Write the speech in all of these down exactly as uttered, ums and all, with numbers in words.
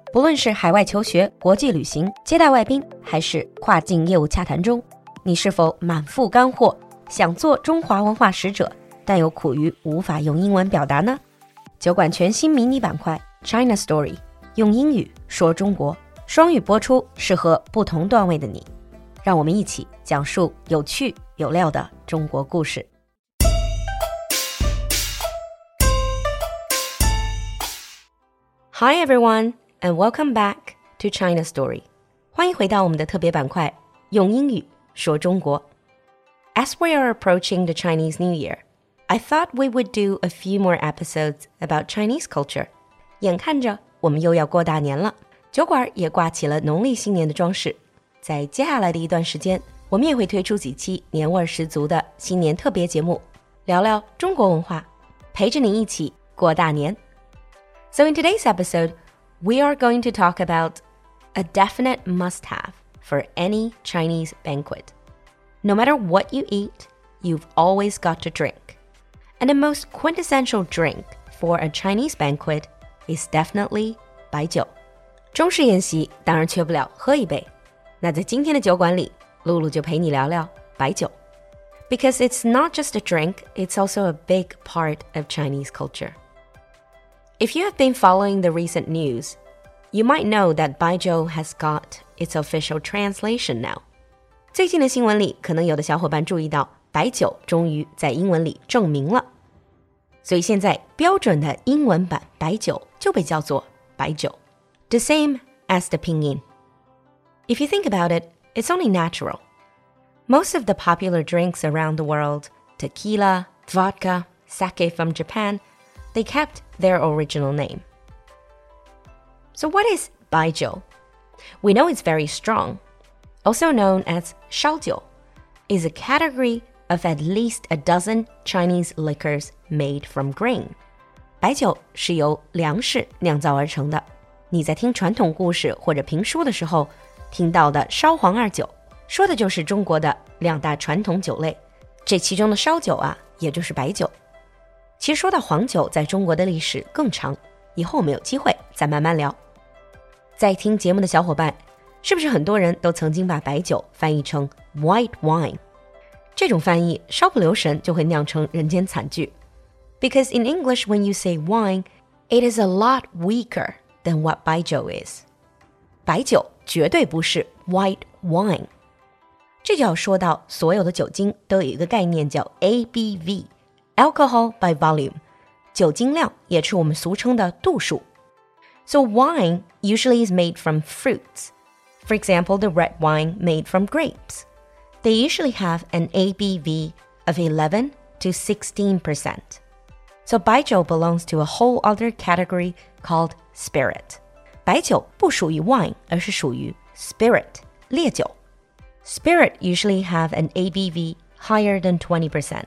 不论是海外求学、国际旅行、接待外宾，还是跨境业务洽谈中，你是否满腹干货，想做中华文化使者，但又苦于无法用英文表达呢？酒馆全新迷你板块 China Story， 用英语说中国，双语播出，适合不同段位的你。让我们一起讲述有趣有料的中国故事。Hi everyone, and welcome back to China Story. 欢迎回到我们的特别板块，用英语说中国。As we are approaching the Chinese New Year, I thought we would do a few more episodes about Chinese culture. 眼看着我们又要过大年了，酒馆也挂起了农历新年的装饰。在接下来的一段时间，我们也会推出几期年味十足的新年特别节目，聊聊中国文化，陪着你一起过大年。So in today's episode, we are going to talk about a definite must-have for any Chinese banquet. No matter what you eat, you've always got to drink. And the most quintessential drink for a Chinese banquet is definitely 白酒。中式宴席当然缺不了喝一杯。那在今天的酒馆里，露露就陪你聊聊白酒。Because it's not just a drink, it's also a big part of Chinese culture.If you have been following the recent news, you might know that 白酒 has got its official translation now. 最近的新闻里，可能有的小伙伴注意到，白酒终于在英文里正名了。所以现在标准的英文版白酒就被叫做白酒 ，the same as the pinyin. If you think about it, it's only natural. Most of the popular drinks around the world, tequila, vodka, sake from Japan,They kept their original name. So what is 白酒? We know it's very strong. Also known as 烧酒, is a category of at least a dozen Chinese liquors made from grain. 白酒是由粮食酿造而成的。你在听传统故事或者评书的时候，听到的烧黄二酒，说的就是中国的两大传统酒类。这其中的烧酒啊，也就是白酒。其实说到黄酒在中国的历史更长，以后我们有机会再慢慢聊。在听节目的小伙伴，是不是很多人都曾经把白酒翻译成 white wine？ 这种翻译稍不留神就会酿成人间惨剧。Because in English when you say wine, it is a lot weaker than what 白酒 is. 白酒绝对不是 white wine。这就要说到所有的酒精都有一个概念叫 A B V。Alcohol by volume, 酒精量也是我们俗称的度数。So wine usually is made from fruits. For example, the red wine made from grapes. They usually have an A B V of eleven to sixteen percent. So 白酒 belongs to a whole other category called spirit. 白酒不属于 wine, 而是属于 spirit, 烈酒。Spirit usually have an A B V higher than twenty percent.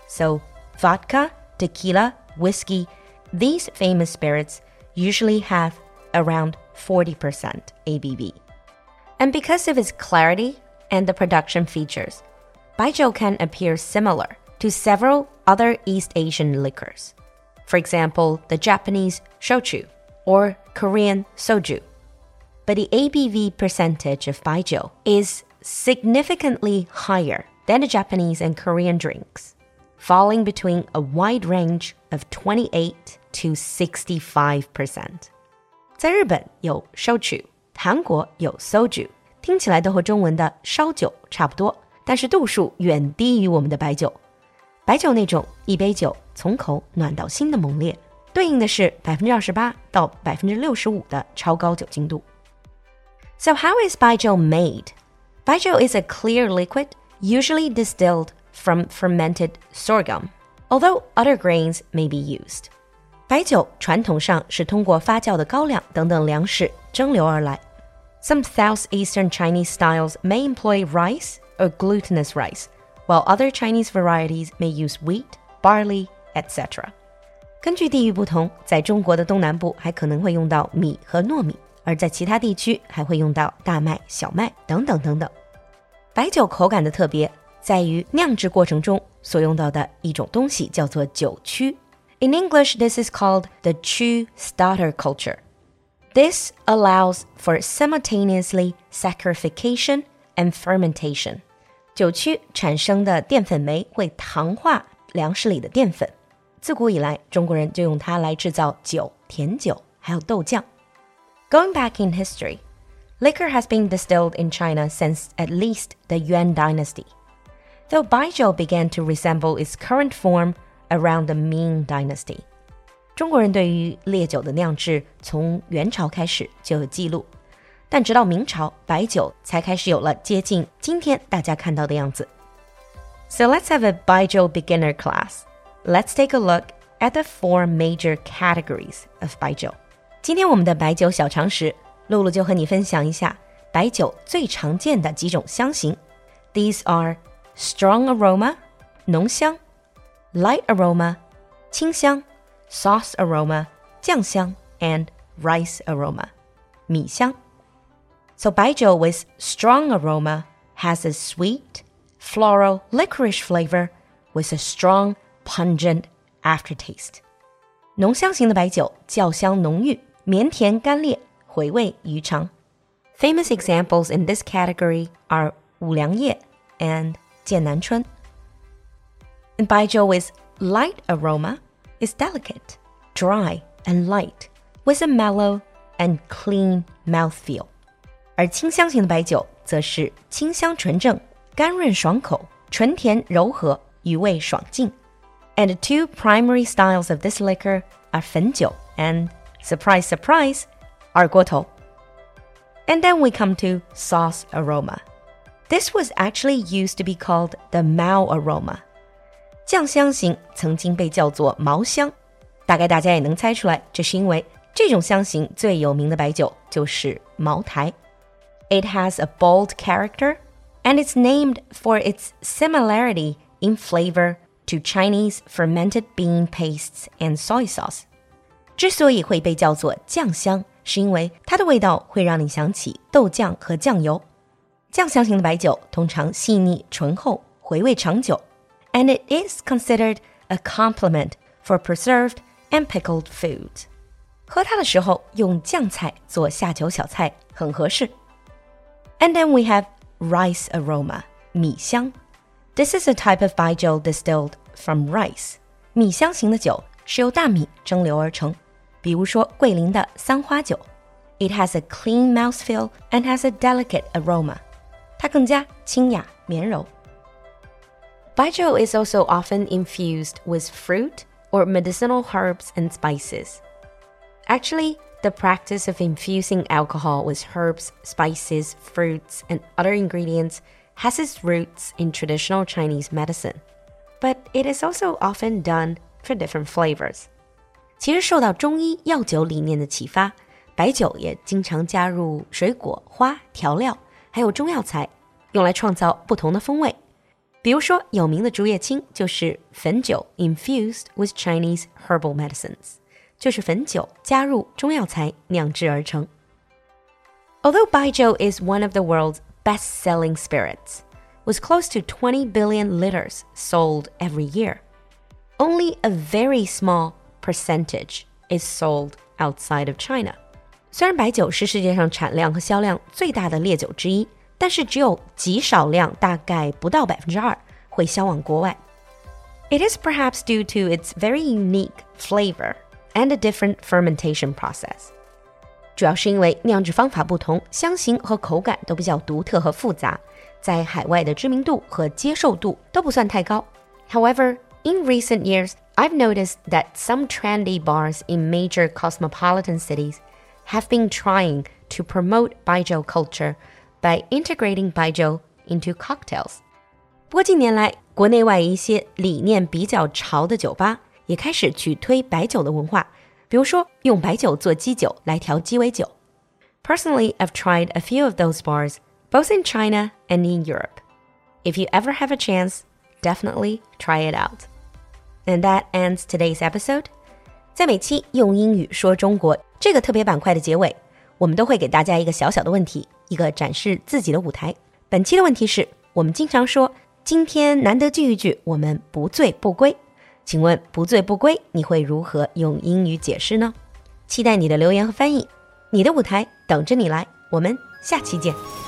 So,Vodka, tequila, whiskey, these famous spirits usually have around forty percent A B V. And because of its clarity and the production features, 白酒 can appear similar to several other East Asian liquors. For example, the Japanese shochu or Korean soju. But the A B V percentage of 白酒 is significantly higher than the Japanese and Korean drinks.Falling between a wide range of twenty-eight to sixty-five percent. 在日本有烧酒，韩国有 soju， 听起来都和中文的烧酒差不多，但是度数远低于我们的白酒。白酒那种一杯酒从口暖到心的猛烈，对应的是 百分之二十八 到 百分之六十五 的超高酒精度。So how is 白酒 made? 白酒 is a clear liquid, usually distilled,from fermented sorghum, although other grains may be used. 白酒传统上是通过发酵的高粱等等粮食蒸馏而来。Some southeastern Chinese styles may employ rice or glutinous rice, while other Chinese varieties may use wheat, barley, et cetera. 根据地域不同，在中国的东南部还可能会用到米和糯米，而在其他地区还会用到大麦、小麦等等等等。白酒口感的特别在于酿制过程中所用到的一种东西叫做酒曲。In English, this is called the 曲 starter culture. This allows for simultaneously saccharification and fermentation. 酒曲产生的淀粉酶会糖化粮食里的淀粉。自古以来，中国人就用它来制造酒、甜酒，还有豆酱。Going back in history, liquor has been distilled in China since at least the Yuan dynasty, though baijiu began to resemble its current form around the Ming dynasty. 中国人对于烈酒的酿制从元朝开始就有记录，但直到明朝，白酒才开始有了接近今天大家看到的样子。So let's have a baijiu beginner class. Let's take a look at the four major categories of 白酒。今天我们的白酒小常识，露露就和你分享一下白酒最常见的几种香型。These are strong aroma, 浓香 light aroma, 清香 sauce aroma, 酱香 and rice aroma, 米香 So 白酒 with strong aroma has a sweet, floral, licorice flavor with a strong, pungent aftertaste. 浓香型的白酒较香浓郁，绵甜甘烈，回味余长。Famous examples in this category are 五粮液 and 剑南春。And 白酒 with light aroma is delicate, dry, and light, with a mellow and clean mouthfeel. 而清香型的白酒则是清香纯正，甘润爽口，纯甜柔和，余味爽劲。And the two primary styles of this liquor are 汾酒 and, surprise, surprise, 二锅头。And then we come to sauce aroma. This was actually used to be called the Mao aroma. 酱香型曾经被叫做茅香，大概大家也能猜出来，这是因为这种香型最有名的白酒就是茅台。It has a bold character, and it's named for its similarity in flavor to Chinese fermented bean pastes and soy sauce. 之所以会被叫做酱香，是因为它的味道会让你想起豆酱和酱油。酱香型的白酒通常细腻醇厚，回味长久。And it is considered a complement for preserved and pickled foods. 喝它的时候用酱菜做下酒小菜很合适。And then we have rice aroma, 米香。This is a type of baijiu distilled from rice. 米香型的酒是由大米蒸馏而成，比如说桂林的三花酒。It has a clean mouthfeel and has a delicate aroma. 它更加清雅绵柔。Baijiu is also often infused with fruit or medicinal herbs and spices. Actually, the practice of infusing alcohol with herbs, spices, fruits, and other ingredients has its roots in traditional Chinese medicine, but it is also often done for different flavors. 其实受到中医药酒理念的启发，白酒也经常加入水果、花、调料，还有中药材，用来创造不同的风味。比如说，有名的竹叶青就是汾酒 infused with Chinese herbal medicines. 就是汾酒加入中药材酿制而成。Although baijiu is one of the world's best-selling spirits, with close to twenty billion liters sold every year, only a very small percentage is sold outside of China. 虽然白酒是世界上产量和销量最大的烈酒之一，但是只有极少量，大概不到 百分之二 会销往国外。It is perhaps due to its very unique flavor and a different fermentation process. 主要是因为酿制方法不同，香型和口感都比较独特和复杂，在海外的知名度和接受度都不算太高。However, in recent years, I've noticed that some trendy bars in major cosmopolitan cities have been trying to promote baijiu culture by integrating baijiu into cocktails. 不过近年来，国内外一些理念比较潮的酒吧也开始去推白酒的文化，比如说用白酒做基酒来调鸡尾酒。Personally, I've tried a few of those bars, both in China and in Europe. If you ever have a chance, definitely try it out. And that ends today's episode. 在每期用英语说中国这个特别板块的结尾，我们都会给大家一个小小的问题，一个展示自己的舞台。本期的问题是，我们经常说今天难得聚一聚，我们不醉不归。请问不醉不归你会如何用英语解释呢？期待你的留言和翻译。 你的舞台等着你来，我们下期见。